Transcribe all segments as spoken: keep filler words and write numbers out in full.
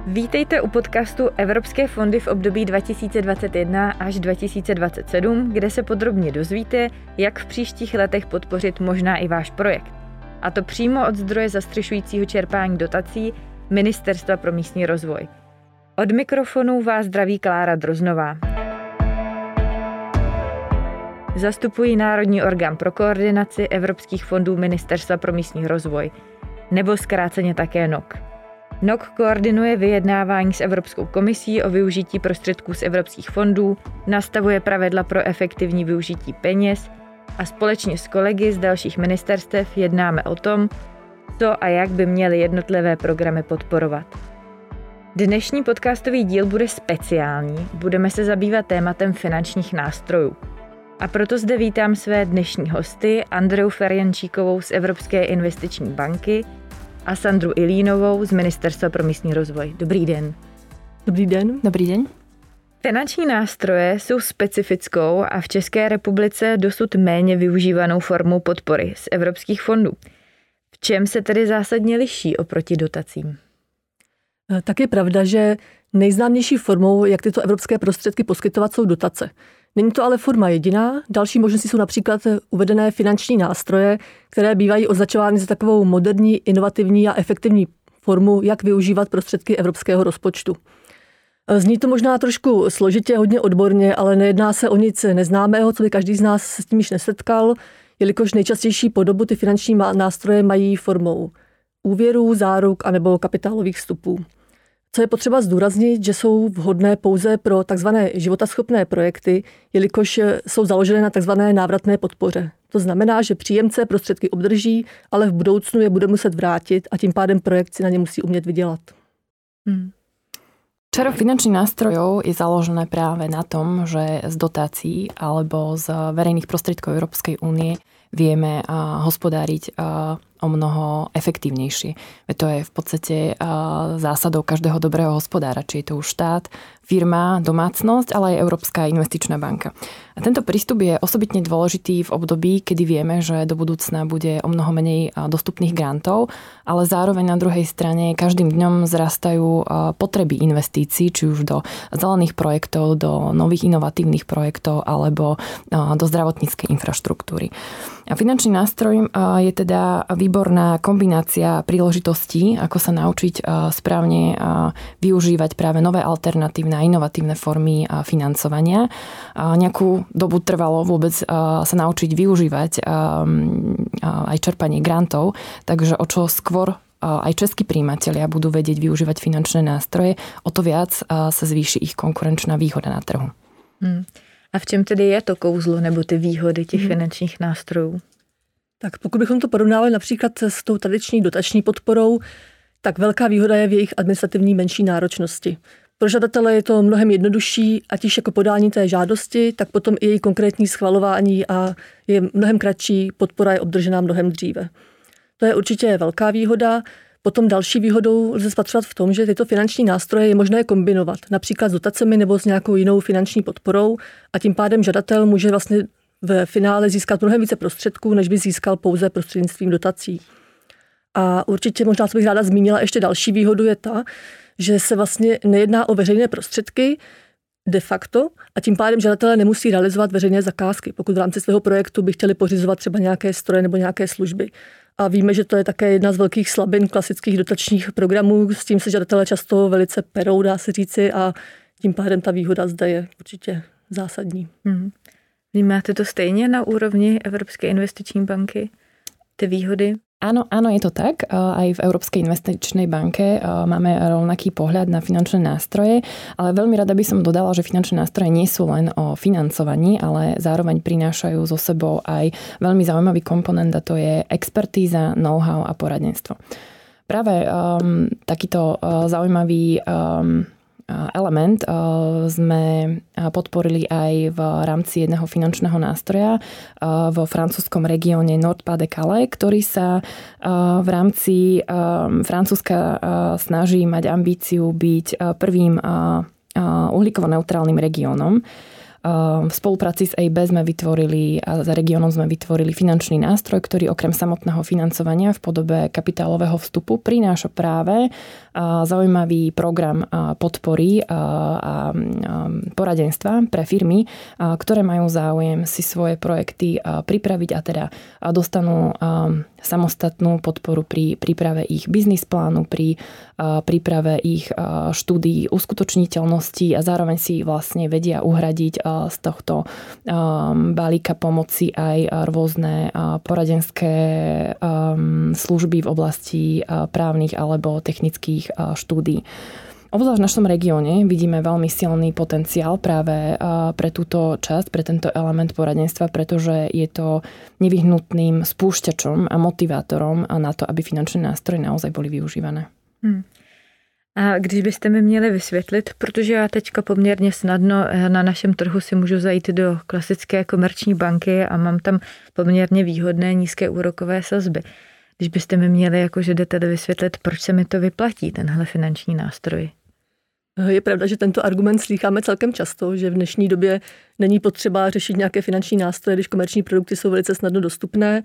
Vítejte u podcastu Evropské fondy v období dva tisíce dvacet jedna až dva tisíce dvacet sedm, kde se podrobně dozvíte, jak v příštích letech podpořit možná i váš projekt. A to přímo od zdroje zastřešujícího čerpání dotací Ministerstva pro místní rozvoj. Od mikrofonu vás zdraví Klára Droznová. Zastupuji Národní orgán pro koordinaci evropských fondů Ministerstva pro místní rozvoj, nebo zkráceně také N O K. N O K koordinuje vyjednávání s Evropskou komisí o využití prostředků z evropských fondů, nastavuje pravidla pro efektivní využití peněz a společně s kolegy z dalších ministerstev jednáme o tom, co a jak by měly jednotlivé programy podporovat. Dnešní podcastový díl bude speciální, budeme se zabývat tématem finančních nástrojů. A proto zde vítám své dnešní hosty Andreu Ferjančíkovou z Evropské investiční banky a Sandru Ilínovou z Ministerstva pro místní rozvoj. Dobrý den. Dobrý den. Dobrý den. Finanční nástroje jsou specifickou a v České republice dosud méně využívanou formou podpory z evropských fondů. V čem se tedy zásadně liší oproti dotacím? Tak je pravda, že nejznámější formou, jak tyto evropské prostředky poskytovat, jsou dotace. Není to ale forma jediná. Další možnosti jsou například uvedené finanční nástroje, které bývají označovány za takovou moderní, inovativní a efektivní formu, jak využívat prostředky evropského rozpočtu. Zní to možná trošku složitě, hodně odborně, ale nejedná se o nic neznámého, co by každý z nás s tím již nesetkal, jelikož nejčastější podobu ty finanční nástroje mají formou úvěrů, záruk anebo kapitálových vstupů. Co je potřeba zdůraznit, že jsou vhodné pouze pro takzvané životaschopné projekty, jelikož jsou založené na takzvané návratné podpoře. To znamená, že příjemce prostředky obdrží, ale v budoucnu je bude muset vrátit a tím pádem projekt si na ně musí umět vydělat. Hmm. Čaro finančných nástrojov je založené práve na tom, že z dotácií alebo z verejných prostriedkov Európskej únie vieme hospodáriť o mnoho efektívnejšie. To je v podstate zásadou každého dobrého hospodára, či je to už štát, firma, domácnosť, ale aj Európska investičná banka. A tento prístup je osobitne dôležitý v období, kedy vieme, že do budúcna bude o mnoho menej dostupných grantov, ale zároveň na druhej strane každým dňom zrastajú potreby investícií, či už do zelených projektov, do nových inovatívnych projektov alebo do zdravotníckej infraštruktúry. A finančný nástroj je teda výborná kombinácia príležitostí, ako sa naučiť správne využívať práve nové alternatívne a inovatívne formy financovania. Nejakú dobu trvalo vôbec sa naučiť využívať aj čerpanie grantov, takže o čo skôr aj českí príjimatelia budú vedieť využívať finančné nástroje, o to viac sa zvýši ich konkurenčná výhoda na trhu. Hmm. A v čem tedy je to kouzlo nebo ty výhody těch hmm. finančních nástrojů? Tak pokud bychom to porovnali například s tou tradiční dotační podporou, tak velká výhoda je v jejich administrativní menší náročnosti. Pro žadatele je to mnohem jednodušší, ať již jako podání té žádosti, tak potom i její konkrétní schvalování a je mnohem kratší, podpora je obdržená mnohem dříve. To je určitě velká výhoda. Potom další výhodou lze spatřovat v tom, že tyto finanční nástroje je možné kombinovat, například s dotacemi nebo s nějakou jinou finanční podporou a tím pádem žadatel může vlastně v finále získat mnohem více prostředků, než by získal pouze prostřednictvím dotací. A určitě možná, co bych ráda zmínila, ještě další výhodu je ta, že se vlastně nejedná o veřejné prostředky de facto a tím pádem žadatelé nemusí realizovat veřejné zakázky, pokud v rámci svého projektu by chtěli pořizovat třeba nějaké stroje nebo nějaké služby. A víme, že to je také jedna z velkých slabin klasických dotačních programů, s tím se žadatelé často velice perou, dá se říci, a tím pádem ta výhoda zde je určitě zásadní. Hmm. Vnímáte to stejně na úrovni Evropské investiční banky, ty výhody? Áno, áno, je to tak. Aj v Európskej investičnej banke máme rovnaký pohľad na finančné nástroje, ale veľmi rada by som dodala, že finančné nástroje nie sú len o financovaní, ale zároveň prinášajú so sebou aj veľmi zaujímavý komponent, a to je expertíza, know-how a poradenstvo. Práve um, takýto uh, zaujímavý um, element sme podporili aj v rámci jedného finančného nástroja vo francúzskom regióne Nord-Pas-de-Calais, ktorý sa v rámci Francúzska snaží mať ambíciu byť prvým uhlíkovo-neutrálnym regiónom. V spolupráci s é í bé sme vytvorili a za regiónom sme vytvorili finančný nástroj, ktorý okrem samotného financovania v podobe kapitálového vstupu prináša práve zaujímavý program podpory a poradenstva pre firmy, ktoré majú záujem si svoje projekty pripraviť a teda dostanú samostatnú podporu pri príprave ich biznis plánu, pri príprave ich štúdií uskutočniteľnosti a zároveň si vlastne vedia uhradiť z tohto balíka pomoci aj rôzne poradenské služby v oblasti právnych alebo technických štúdií. Obzvlášť v našom regióne vidíme veľmi silný potenciál práve pre túto časť, pre tento element poradenstva, pretože je to nevyhnutným spúšťačom a motivátorom na to, aby finančné nástroje naozaj boli využívané. Hmm. A když byste mi měli vysvětlit, protože já teďka poměrně snadno na našem trhu si můžu zajít do klasické komerční banky a mám tam poměrně výhodné nízké úrokové sazby. Když byste mi měli jako žadatel vysvětlit, proč se mi to vyplatí, tenhle finanční nástroj? Je pravda, že tento argument slýcháme celkem často, že v dnešní době není potřeba řešit nějaké finanční nástroje, když komerční produkty jsou velice snadno dostupné,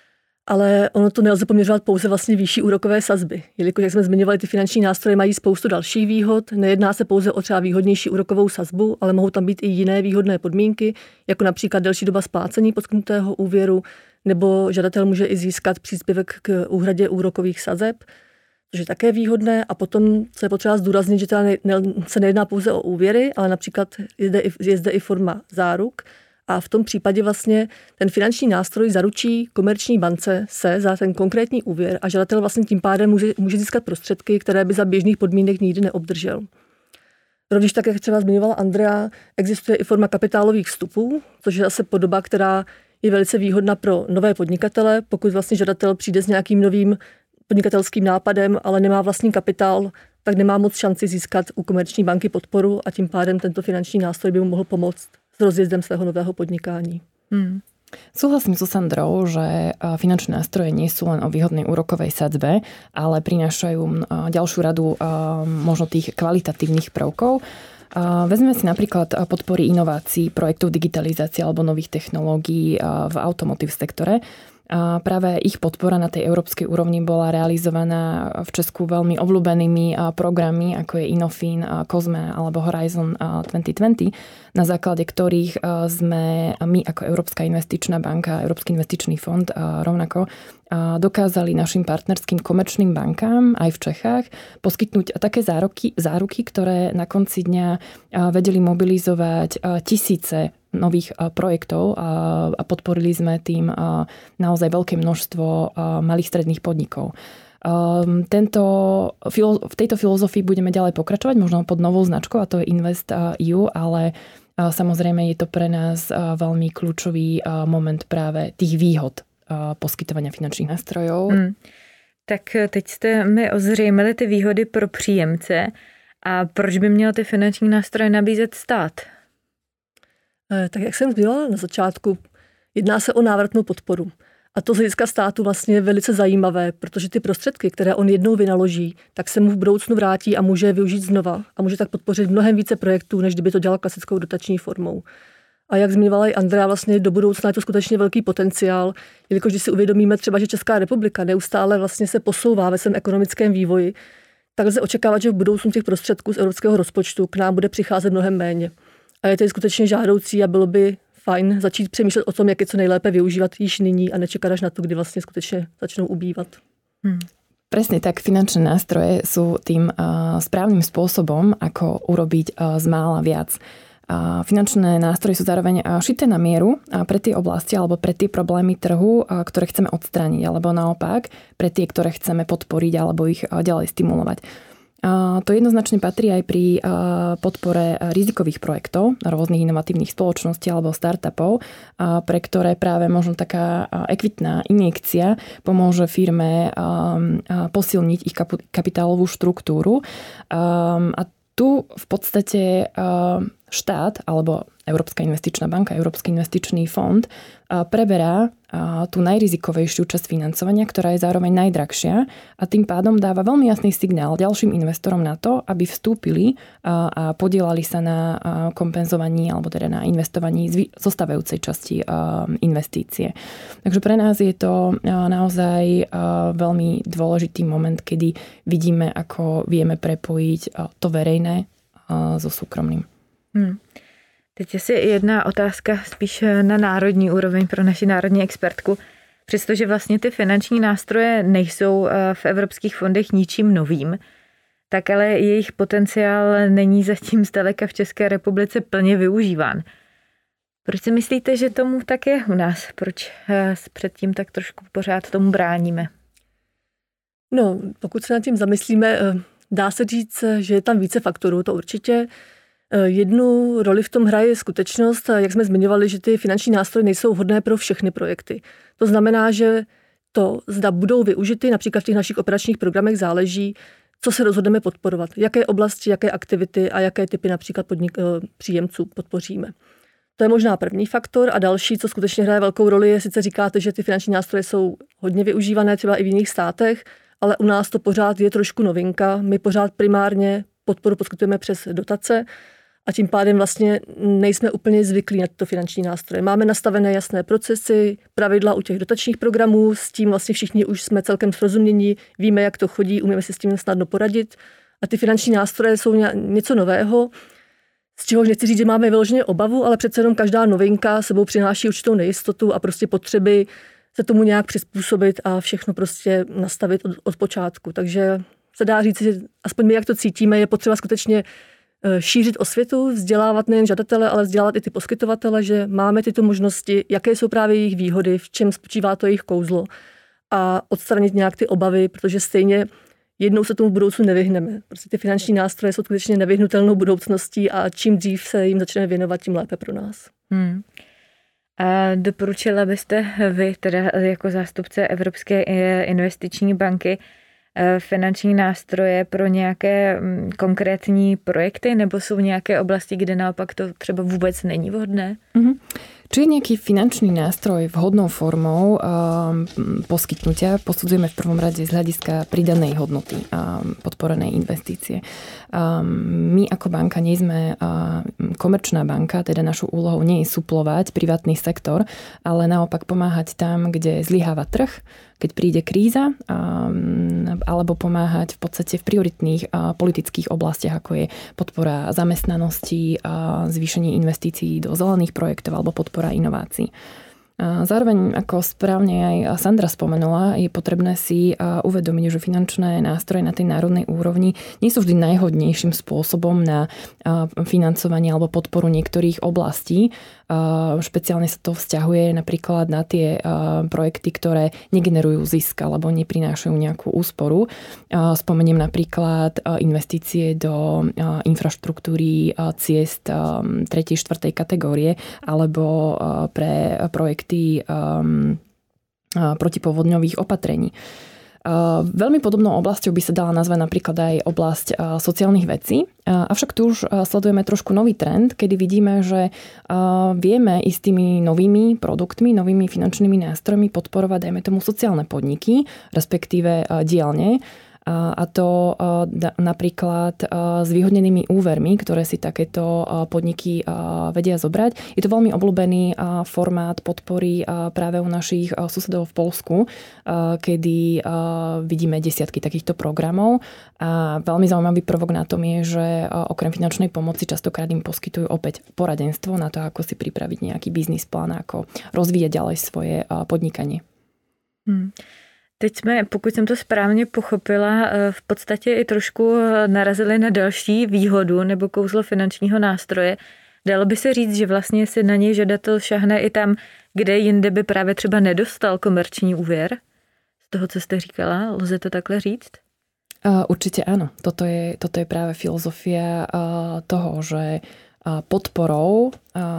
ale ono to nelze poměřovat pouze vlastně výšší úrokové sazby. Jelikož, jak jsme zmiňovali, ty finanční nástroje mají spoustu dalších výhod, nejedná se pouze o třeba výhodnější úrokovou sazbu, ale mohou tam být i jiné výhodné podmínky, jako například delší doba splácení poskytnutého úvěru, nebo žadatel může i získat příspěvek k úhradě úrokových sazeb, což je také výhodné. A potom, co je potřeba zdůraznit, že teda ne, ne, se nejedná pouze o úvěry, ale například je zde, i, je zde i forma záruk. A v tom případě vlastně ten finanční nástroj zaručí komerční bance se za ten konkrétní úvěr a žadatel vlastně tím pádem může, může získat prostředky, které by za běžných podmínek nikdy neobdržel. Rovněž tak, jak třeba zmiňovala Andrea, existuje i forma kapitálových vstupů, což je zase podoba, která je velice výhodná pro nové podnikatele, pokud vlastně žadatel přijde s nějakým novým podnikatelským nápadem, ale nemá vlastní kapitál, tak nemá moc šanci získat u komerční banky podporu a tím pádem tento finanční nástroj by mu mohl pomoct s rozjezdem svého nového podnikání. Hmm. Súhlasím so Sandrou, že finančné nástroje nie sú len o výhodnej úrokovej sadzbe, ale prinášajú ďalšiu radu možno tých kvalitatívnych prvkov. Vezmeme si napríklad podpory inovácií, projektov digitalizácie alebo nových technológií v automotive sektore. A práve ich podpora na tej európskej úrovni bola realizovaná v Česku veľmi obľúbenými programy, ako je Innofin, Cosme alebo Horizon dvetisícdvadsať, na základe ktorých sme my ako Európska investičná banka, Európsky investičný fond rovnako dokázali našim partnerským komerčným bankám aj v Čechách poskytnúť také záruky, záruky, ktoré na konci dňa vedeli mobilizovať tisíce nových projektov a podporili sme tým naozaj veľké množstvo malých stredných podnikov. Tento, v tejto filozofii budeme ďalej pokračovať, možno pod novou značkou, a to je Invest é ú, ale samozrejme je to pre nás veľmi kľúčový moment práve tých výhod poskytovania finančních nástrojů. Hmm. Tak teď jste mi ozřejmili ty výhody pro příjemce a proč by měl ty finanční nástroje nabízet stát? Tak jak jsem zmínila na začátku, jedná se o návratnou podporu. A to z hlediska státu vlastně je velice zajímavé, protože ty prostředky, které on jednou vynaloží, tak se mu v budoucnu vrátí a může je využít znova a může tak podpořit mnohem více projektů, než kdyby to dělal klasickou dotační formou. A jak zmiňovala i Andrea, vlastně do budoucna je to skutečně velký potenciál, jelikož když si uvědomíme třeba, že Česká republika neustále vlastně se posouvá ve svém ekonomickém vývoji, tak lze očekávat, že v budoucnu těch prostředků z evropského rozpočtu k nám bude přicházet mnohem méně. A je to skutečně žádoucí a bylo by fajn začít přemýšlet o tom, jak je co nejlépe využívat již nyní a nečekat až na to, kdy vlastně skutečně začnou ubývat. Hmm. Presne tak, finančné nástroje sú tým uh, správnym spôsobom, ako urobiť uh, z mála viac. Uh, finančné nástroje sú zároveň uh, šité na mieru uh, pre tie oblasti alebo pre tie problémy trhu, uh, ktoré chceme odstrániť, alebo naopak pre tie, ktoré chceme podporiť alebo ich uh, ďalej stimulovať. To jednoznačne patrí aj pri podpore rizikových projektov rôznych inovatívnych spoločností alebo startupov, pre ktoré práve možno taká ekvitná injekcia pomôže firme posilniť ich kapitálovú štruktúru. A tu v podstate štát alebo Európska investičná banka, Európsky investičný fond preberá tú najrizikovejšiu časť financovania, ktorá je zároveň najdrahšia a tým pádom dáva veľmi jasný signál ďalším investorom na to, aby vstúpili a podielali sa na kompenzovaní alebo teda na investovaní zostávajúcej časti investície. Takže pre nás je to naozaj veľmi dôležitý moment, kedy vidíme, ako vieme prepojiť to verejné so súkromným. Hmm. Teď asi jedna otázka spíš na národní úroveň pro naši národní expertku. Přestože vlastně ty finanční nástroje nejsou v evropských fondech ničím novým, tak ale jejich potenciál není zatím zdaleka v České republice plně využíván. Proč si myslíte, že tomu tak je u nás? Proč předtím tak trošku pořád tomu bráníme? No, pokud se nad tím zamyslíme, dá se říct, že je tam více faktorů, to určitě. Jednu roli v tom hraje skutečnost, jak jsme zmiňovali, že ty finanční nástroje nejsou vhodné pro všechny projekty. To znamená, že to, zda budou využity, například v těch našich operačních programech záleží, co se rozhodneme podporovat, jaké oblasti, jaké aktivity a jaké typy například podnik, příjemců podpoříme. To je možná první faktor a další, co skutečně hraje velkou roli, je, sice říkáte, že ty finanční nástroje jsou hodně využívané třeba i v jiných státech, ale u nás to pořád je trošku novinka. My pořád primárně podporu poskytujeme přes dotace a tím pádem vlastně nejsme úplně zvyklí na tyto finanční nástroje. Máme nastavené jasné procesy, pravidla u těch dotačních programů, s tím vlastně všichni už jsme celkem srozumění, víme, jak to chodí, umíme si s tím snadno poradit. A ty finanční nástroje jsou něco nového, z čehož nechci říct, že máme vyloženě obavu, ale přece jenom každá novinka sebou přináší určitou nejistotu a prostě potřeby se tomu nějak přizpůsobit a všechno prostě nastavit od, od počátku. Takže se dá říct, že aspoň my, jak to cítíme, je potřeba skutečně šířit osvětu, vzdělávat nejen žadatele, ale vzdělávat i ty poskytovatele, že máme tyto možnosti, jaké jsou právě jejich výhody, v čem spočívá to jejich kouzlo a odstranit nějak ty obavy, protože stejně jednou se tomu v budoucnu nevyhneme. Prostě ty finanční nástroje jsou skutečně nevyhnutelnou budoucností a čím dřív se jim začneme věnovat, tím lépe pro nás. Hmm. A doporučila byste vy, teda jako zástupce Evropské investiční banky, finanční nástroje pro nějaké konkrétní projekty, nebo jsou nějaké oblasti, kde naopak to třeba vůbec není vhodné? Mm-hmm. Či je nejaký finančný nástroj vhodnou formou um, poskytnutia, posudzujeme v prvom rade z hľadiska pridanej hodnoty a um, podporenej investície. Um, my ako banka nie sme uh, komerčná banka, teda našou úlohou nie je suplovať privátny sektor, ale naopak pomáhať tam, kde zlyháva trh, keď príde kríza, um, alebo pomáhať v podstate v prioritných uh, politických oblastiach, ako je podpora zamestnanosti, uh, zvýšenie investícií do zelených projektov alebo podpora inovácií. Zároveň, ako správne aj Sandra spomenula, je potrebné si uvedomiť, že finančné nástroje na tej národnej úrovni nie sú vždy najhodnejším spôsobom na financovanie alebo podporu niektorých oblastí. Špeciálne sa to vzťahuje napríklad na tie projekty, ktoré negenerujú zisk alebo neprinášajú nejakú úsporu. Spomeniem napríklad investície do infraštruktúry ciest tretej štvrtej kategórie alebo pre projekty um, protipovodňových opatrení. Uh, veľmi podobnou oblasťou by sa dala nazvať napríklad aj oblasť uh, sociálnych vecí. Uh, avšak tu už uh, sledujeme trošku nový trend, kedy vidíme, že uh, vieme i s tými novými produktmi, novými finančnými nástrojmi podporovať, dajme tomu, sociálne podniky, respektíve uh, dielne. A to napríklad s výhodnenými úvermi, ktoré si takéto podniky vedia zobrať. Je to veľmi obľúbený formát podpory práve u našich susedov v Poľsku, kedy vidíme desiatky takýchto programov. A veľmi zaujímavý prvok na tom je, že okrem finančnej pomoci častokrát im poskytujú opäť poradenstvo na to, ako si pripraviť nejaký biznis plán, ako rozvíjať ďalej svoje podnikanie. Hmm. Teď jsme, pokud jsem to správně pochopila, v podstatě i trošku narazili na další výhodu nebo kouzlo finančního nástroje. Dalo by se říct, že vlastně si na něj žadatel šahne i tam, kde jinde by právě třeba nedostal komerční úvěr? Z toho, co jste říkala, lze to takhle říct? Uh, určite áno. Toto je, toto je práve filozofia uh, toho, že podporou,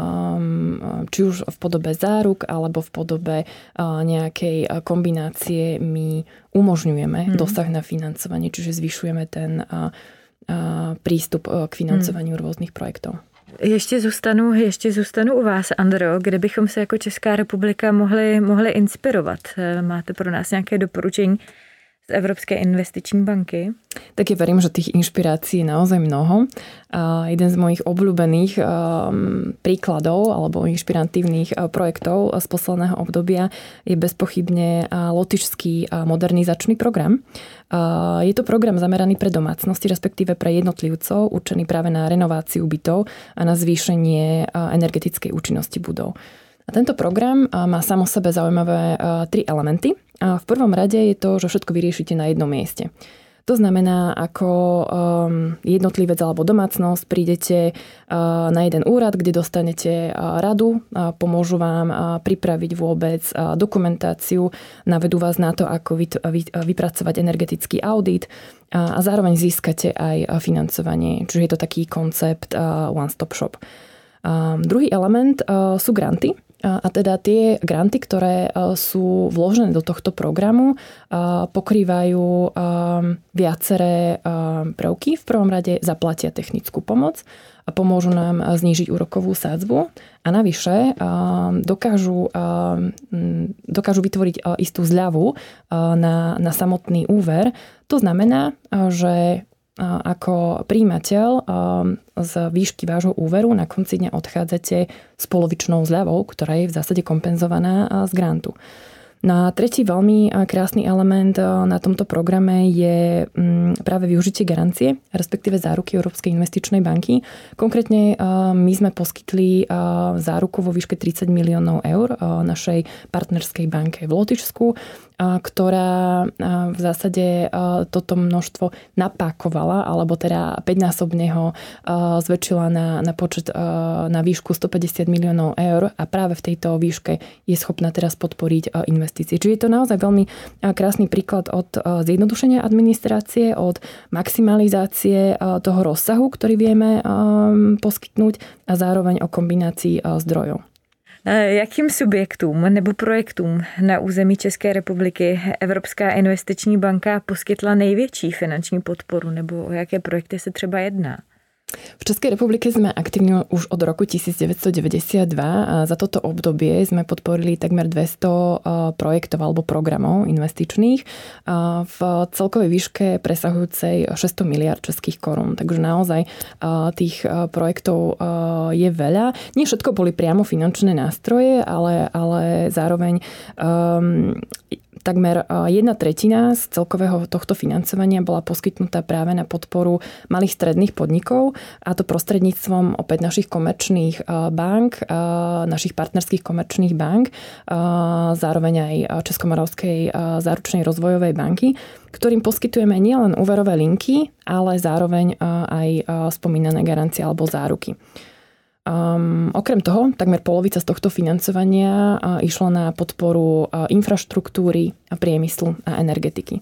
či už v podobe záruk alebo v podobe nejakej kombinácie my umožňujeme mm. dosah na financovanie, čiže zvyšujeme ten prístup k financovaniu mm. rôznych projektov. Ještě zůstanu, ještě zůstanu u vás, Andro, kde bychom se jako Česká republika mohli, mohli inspirovat. Máte pro nás nějaké doporučení z Evropské investiční banky? Tak ja verím, že tých inšpirácií je naozaj mnoho. Uh, jeden z mojich obľúbených um, príkladov alebo inšpiratívnych uh, projektov z posledného obdobia je bezpochybne uh, lotyšský uh, modernizačný program. Uh, je to program zameraný pre domácnosti, respektíve pre jednotlivcov, určený práve na renováciu bytov a na zvýšenie uh, energetickej účinnosti budov. A tento program má sám o sebe zaujímavé tri elementy. A v prvom rade je to, že všetko vyriešite na jednom mieste. To znamená, ako jednotlivec alebo domácnosť prídete na jeden úrad, kde dostanete radu, pomôžu vám pripraviť vôbec dokumentáciu, navedú vás na to, ako vypracovať energetický audit a zároveň získate aj financovanie. Čiže je to taký koncept one-stop shop. Druhý element sú granty. A teda tie granty, ktoré sú vložené do tohto programu, pokrývajú viaceré prvky. V prvom rade zaplatia technickú pomoc a pomôžu nám znížiť úrokovú sádzbu. A navyše dokážu, dokážu vytvoriť istú zľavu na, na samotný úver. To znamená, že ako príjimateľ z výšky vášho úveru na konci dňa odchádzate s polovičnou zľavou, ktorá je v zásade kompenzovaná z grantu. No a tretí veľmi krásny element na tomto programe je práve využitie garancie, respektíve záruky Európskej investičnej banky. Konkrétne my sme poskytli záruku vo výške tridsať miliónov eur našej partnerskej banke v Lotyšsku, ktorá v zásade toto množstvo napákovala, alebo teda päťnásobne ho zväčšila na, na počet, na výšku stopäťdesiat miliónov eur a práve v tejto výške je schopná teraz podporiť investície. Čiže je to naozaj veľmi krásny príklad od zjednodušenia administrácie, od maximalizácie toho rozsahu, ktorý vieme poskytnúť a zároveň o kombinácii zdrojov. Jakým subjektům nebo projektům na území České republiky Evropská investiční banka poskytla největší finanční podporu, nebo o jaké projekty se třeba jedná? V Českej republike sme aktívni už od roku devätnásťstodeväťdesiatdva a za toto obdobie sme podporili takmer dvesto projektov alebo programov investičných v celkovej výške presahujúcej šesťsto miliárd českých korún. Takže naozaj tých projektov je veľa. Nie všetko boli priamo finančné nástroje, ale, ale zároveň um, takmer jedna tretina z celkového tohto financovania bola poskytnutá práve na podporu malých stredných podnikov, a to prostredníctvom opäť našich komerčných bank, našich partnerských komerčných bank, zároveň aj Českomoravskej záručnej rozvojovej banky, ktorým poskytujeme nielen úverové linky, ale zároveň aj spomínané garancie alebo záruky. Um, okrem toho, takmer polovica z tohto financovania uh, išla na podporu uh, infraštruktúry, a priemyslu a energetiky.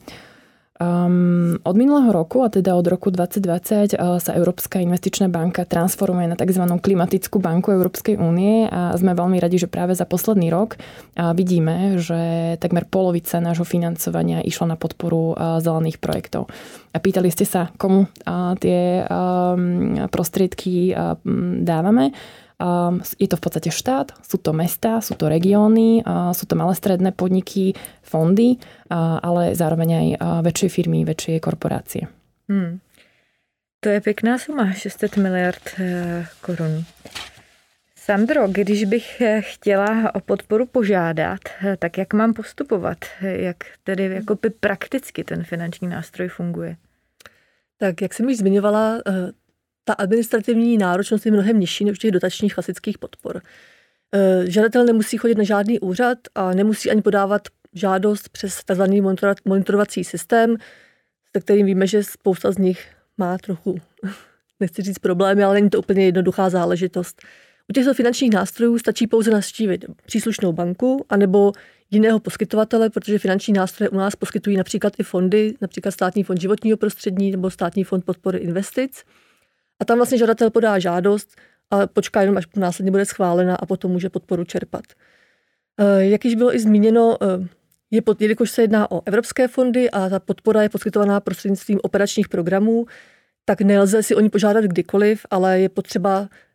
Um, od minulého roku, a teda od roku dvadsať dvadsať, uh, sa Európska investičná banka transformuje na tzv. Klimatickú banku Európskej únie a sme veľmi radi, že práve za posledný rok uh, vidíme, že takmer polovica nášho financovania išla na podporu uh, zelených projektov. A pýtali ste sa, komu uh, tie um, prostriedky uh, dávame. Je to v podstate štát, sú to mestá, sú to regióny, sú to malé stredné podniky, fondy, ale zároveň aj väčšie firmy, väčšie korporácie. Hmm. To je pěkná suma, šest set miliard korun. Sandro, když bych chtěla o podporu požádat, tak jak mám postupovat? Jak tedy jakoby prakticky ten finanční nástroj funguje? Tak, jak jsem již zmiňovala, ta administrativní náročnost je mnohem nižší než těch dotačních klasických podpor. Žadatel nemusí chodit na žádný úřad a nemusí ani podávat žádost přes tzv. monitorovací systém, se kterým víme, že spousta z nich má trochu, nechci říct problémy, ale není to úplně jednoduchá záležitost. U těchto finančních nástrojů stačí pouze navštívit příslušnou banku anebo jiného poskytovatele, protože finanční nástroje u nás poskytují například i fondy, například Státní fond životního prostředí nebo Státní fond podpory investic. A tam vlastně žadatel podá žádost a počká jenom, až následně bude schválena a potom může podporu čerpat. Jak již bylo i zmíněno, je pod, jelikož se jedná o evropské fondy a ta podpora je poskytovaná prostřednictvím operačních programů, tak nelze si o ní požádat kdykoliv, ale je potřeba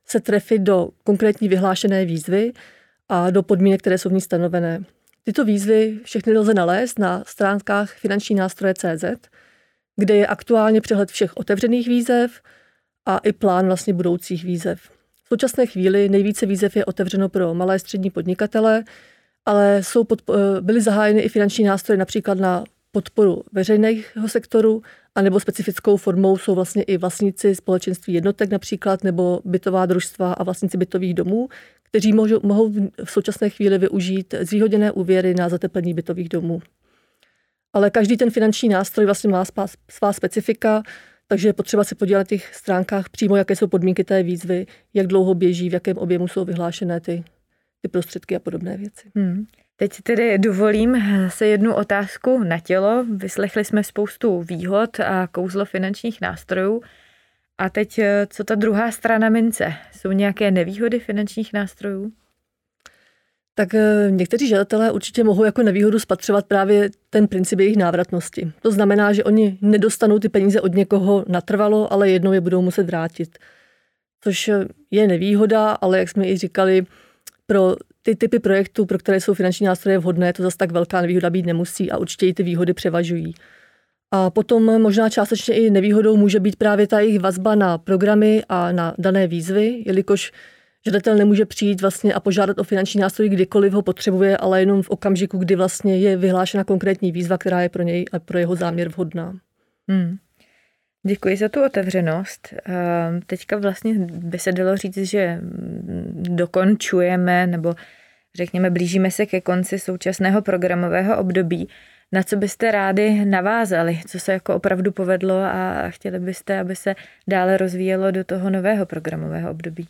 se trefit do konkrétní vyhlášené výzvy a do podmínek, které jsou v ní stanovené. Tyto výzvy všechny lze nalézt na stránkách finanční nástroje tečka cé zet, kde je aktuálně přehled všech otevřených výzev a i plán vlastně budoucích výzev. V současné chvíli nejvíce výzev je otevřeno pro malé střední podnikatele, ale jsou pod, byly zahájeny i finanční nástroje například na podporu veřejného sektoru, anebo specifickou formou jsou vlastně i vlastníci společenství jednotek například, nebo bytová družstva a vlastníci bytových domů, kteří mohou, mohou v současné chvíli využít zvýhodněné úvěry na zateplení bytových domů. Ale každý ten finanční nástroj vlastně má svá specifika, takže je potřeba se podívat na těch stránkách přímo, jaké jsou podmínky té výzvy, jak dlouho běží, v jakém objemu jsou vyhlášené ty, ty prostředky a podobné věci. Hmm. Teď tedy dovolím se jednu otázku na tělo. Vyslechli jsme spoustu výhod a kouzlo finančních nástrojů. A teď, co ta druhá strana mince? Jsou nějaké nevýhody finančních nástrojů? Tak někteří žadatelé určitě mohou jako nevýhodu spatřovat právě ten princip jejich návratnosti. To znamená, že oni nedostanou ty peníze od někoho natrvalo, ale jednou je budou muset vrátit. Což je nevýhoda, ale jak jsme i říkali, pro ty typy projektů, pro které jsou finanční nástroje vhodné, to zase tak velká nevýhoda být nemusí a určitě i ty výhody převažují. A potom možná částečně i nevýhodou může být právě ta jejich vazba na programy a na dané výzvy, jelikož žadatel nemůže přijít vlastně a požádat o finanční nástroj, kdykoliv ho potřebuje, ale jenom v okamžiku, kdy vlastně je vyhlášena konkrétní výzva, která je pro něj a pro jeho záměr vhodná. Hmm. Děkuji za tu otevřenost. Teďka vlastně by se dalo říct, že dokončujeme nebo řekněme blížíme se ke konci současného programového období. Na co byste rádi navázali? Co se jako opravdu povedlo a chtěli byste, aby se dále rozvíjelo do toho nového programového období?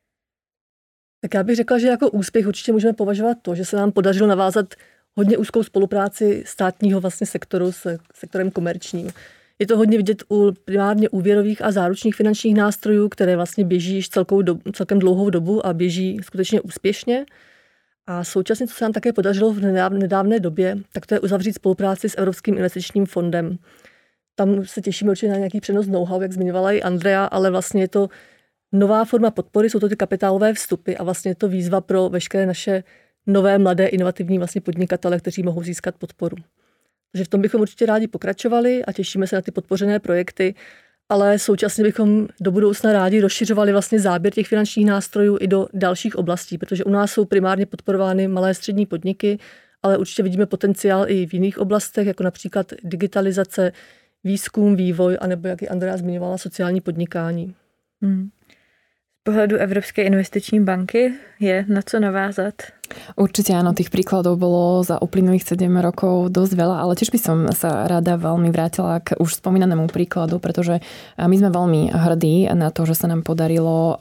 Tak já bych řekla, že jako úspěch určitě můžeme považovat to, že se nám podařilo navázat hodně úzkou spolupráci státního vlastně sektoru s sektorem komerčním. Je to hodně vidět u primárně úvěrových a záručních finančních nástrojů, které vlastně běží již celkou dobu, celkem dlouhou dobu a běží skutečně úspěšně. A současně, co se nám také podařilo v nedávné době, tak to je uzavřít spolupráci s Evropským investičním fondem. Tam se těšíme určitě na nějaký přenos know-how, jak zmiňovala i Andrea, ale vlastně je to nová forma podpory, jsou to ty kapitálové vstupy a vlastně je to výzva pro veškeré naše nové, mladé, inovativní vlastně podnikatele, kteří mohou získat podporu. Takže v tom bychom určitě rádi pokračovali a těšíme se na ty podpořené projekty, ale současně bychom do budoucna rádi rozšiřovali vlastně záběr těch finančních nástrojů i do dalších oblastí, protože u nás jsou primárně podporovány malé střední podniky, ale určitě vidíme potenciál i v jiných oblastech, jako například digitalizace, výzkum, vývoj, anebo, jak i Andrea zmiňovala, sociální podnikání. Hmm. Z pohľadu Európskej investiční banky je na co navázat? Určite áno, tých príkladov bolo za uplynulých sedem rokov dosť veľa, ale tiež by som sa rada veľmi vrátila k už spomínanému príkladu, pretože my sme veľmi hrdí na to, že sa nám podarilo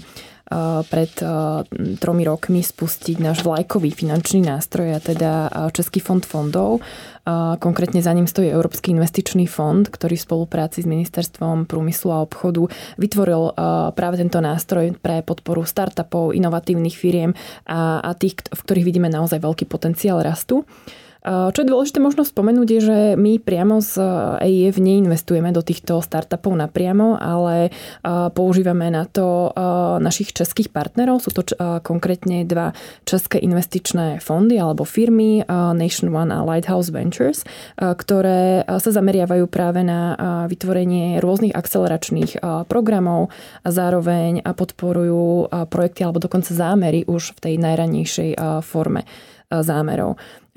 pred tromi rokmi spustiť náš vlajkový finančný nástroj, a teda Český fond fondov. Konkrétne za ním stojí Európsky investičný fond, ktorý v spolupráci s Ministerstvom průmyslu a obchodu vytvoril práve tento nástroj pre podporu startupov, inovatívnych firiem a, a tých, v ktorých vidíme naozaj veľký potenciál rastu. Čo je dôležité možno spomenúť je, že my priamo z é í ef neinvestujeme do týchto startupov napriamo, ale používame na to našich českých partnerov. Sú to konkrétne dva české investičné fondy alebo firmy Nation One a Lighthouse Ventures, ktoré sa zameriavajú práve na vytvorenie rôznych akceleračných programov a zároveň podporujú projekty alebo dokonca zámery už v tej najranejšej forme zámerov.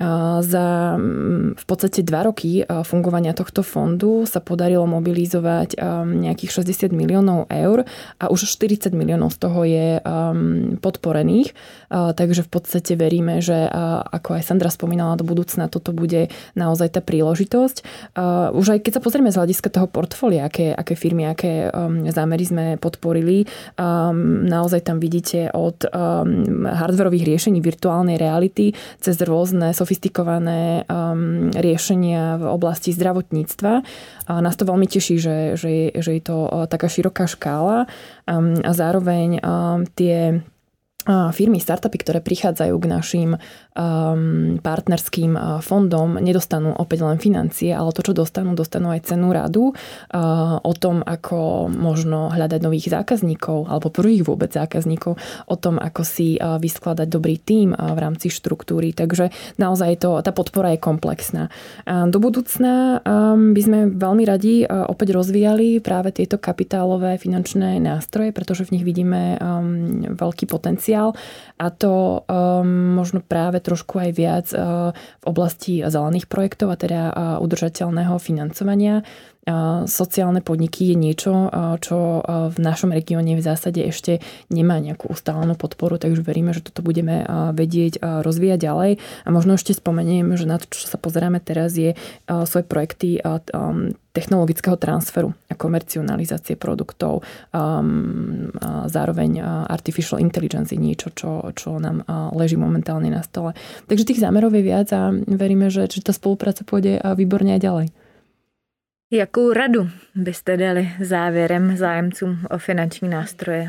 Za v podstate dva roky fungovania tohto fondu sa podarilo mobilizovať nejakých šesťdesiat miliónov eur a už štyridsať miliónov z toho je podporených. Takže v podstate veríme, že ako aj Sandra spomínala, do budúcna toto bude naozaj tá príležitosť. Už aj keď sa pozrieme z hľadiska toho portfólia, aké, aké firmy, aké zámery sme podporili, naozaj tam vidíte od hardwarových riešení virtuálnej reality cez rôzne sofistikované um, riešenia v oblasti zdravotníctva. A nás to veľmi teší, že, že, je, že je to uh, taká široká škála um, a zároveň um, tie firmy, startupy, ktoré prichádzajú k našim um, partnerským fondom, nedostanú opäť len financie, ale to, čo dostanú, dostanú aj cennú radu uh, o tom, ako možno hľadať nových zákazníkov alebo prvých vôbec zákazníkov, o tom, ako si uh, vyskladať dobrý tím uh, v rámci štruktúry. Takže naozaj to, tá podpora je komplexná. Uh, do budúcna um, by sme veľmi radi uh, opäť rozvíjali práve tieto kapitálové finančné nástroje, pretože v nich vidíme um, veľký potenciál. A to um, možno práve trošku aj viac uh, v oblasti zelených projektov a teda uh, udržateľného financovania. Uh, sociálne podniky je niečo, uh, čo uh, v našom regióne v zásade ešte nemá nejakú ustálenú podporu, takže veríme, že toto budeme uh, vedieť uh, rozvíjať ďalej. A možno ešte spomeniem, že na to, čo sa pozeráme teraz, je uh, svoje projekty uh, um, technologického transferu a komercionalizácie produktov. Um, a zároveň artificial intelligence je niečo, čo, čo nám leží momentálne na stole. Takže tých zámerov je viac a veríme, že, že tá spolupráca pôjde výborne aj ďalej. Jakou radu byste dali závěrem zájemcům o finanční nástroje?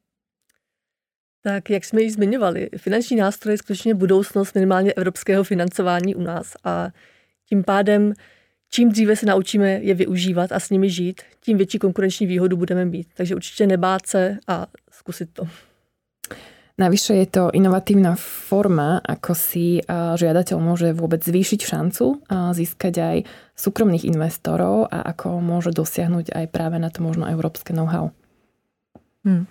Tak, jak jsme ji zmiňovali, finanční nástroje je skutečně budoucnost minimálně evropského financování u nás a tím pádem čím dříve se naučíme je využívat a s nimi žít, tím větší konkurenční výhodu budeme mít. Takže určitě nebát se a zkusit to. Navyše je to inovatívna forma, ako si žiadateľ môže vôbec zvýšiť šancu získať aj súkromných investorov a ako môže dosiahnuť aj práve na to možno európske know-how. Hmm.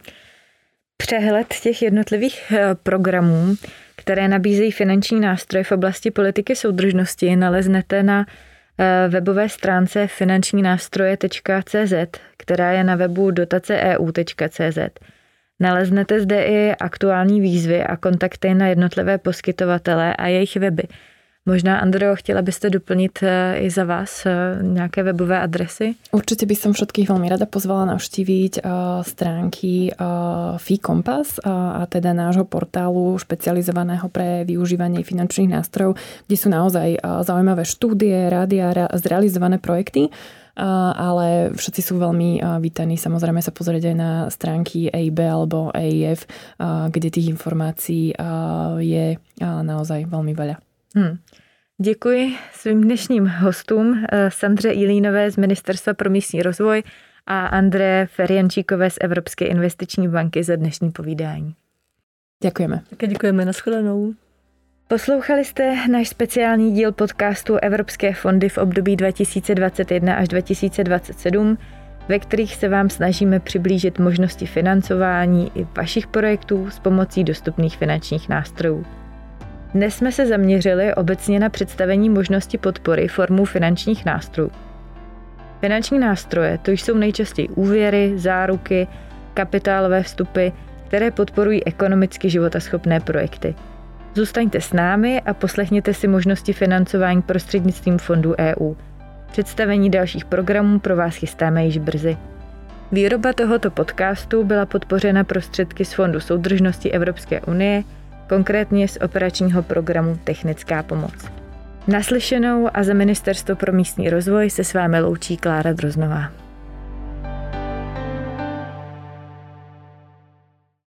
Přehled těch jednotlivých programů, které nabízejí finanční nástroje v oblasti politiky soudržnosti, naleznete na webové stránce finanční nástroje tečka cé zet, která je na webu dotace e u tečka cé zet. Naleznete zde i aktuální výzvy a kontakty na jednotlivé poskytovatele a jejich weby. Možná, Andreo, chtěla byste doplnit i za vás nejaké webové adresy? Určite by som všetkých veľmi rada pozvala navštíviť stránky Fee Compass a teda nášho portálu špecializovaného pre využívanie finančných nástrojov, kde sú naozaj zaujímavé štúdie, rádia, zrealizované projekty, ale všetci sú veľmi vítaní samozrejme sa pozrieť aj na stránky E I B alebo E I F, kde tých informácií je naozaj veľmi veľa. Hmm. Děkuji svým dnešním hostům, Sandře Ilínové z Ministerstva pro místní rozvoj a André Ferjančíkové z Evropské investiční banky za dnešní povídání. Děkujeme. Také děkujeme, nashledanou. Poslouchali jste náš speciální díl podcastu Evropské fondy v období dva tisíce dvacet jedna až dva tisíce dvacet sedm, ve kterých se vám snažíme přiblížit možnosti financování i vašich projektů s pomocí dostupných finančních nástrojů. Dnes jsme se zaměřili obecně na představení možnosti podpory formou finančních nástrojů. Finanční nástroje to jsou nejčastěji úvěry, záruky, kapitálové vstupy, které podporují ekonomicky životaschopné projekty. Zůstaňte s námi a poslechněte si možnosti financování prostřednictvím fondů E U. Představení dalších programů pro vás chystáme již brzy. Výroba tohoto podcastu byla podpořena prostředky z Fondu soudržnosti Evropské unie, konkrétně z operačního programu Technická pomoc. Naslyšenou a za Ministerstvo pro místní rozvoj se s vámi loučí Klára Droznová.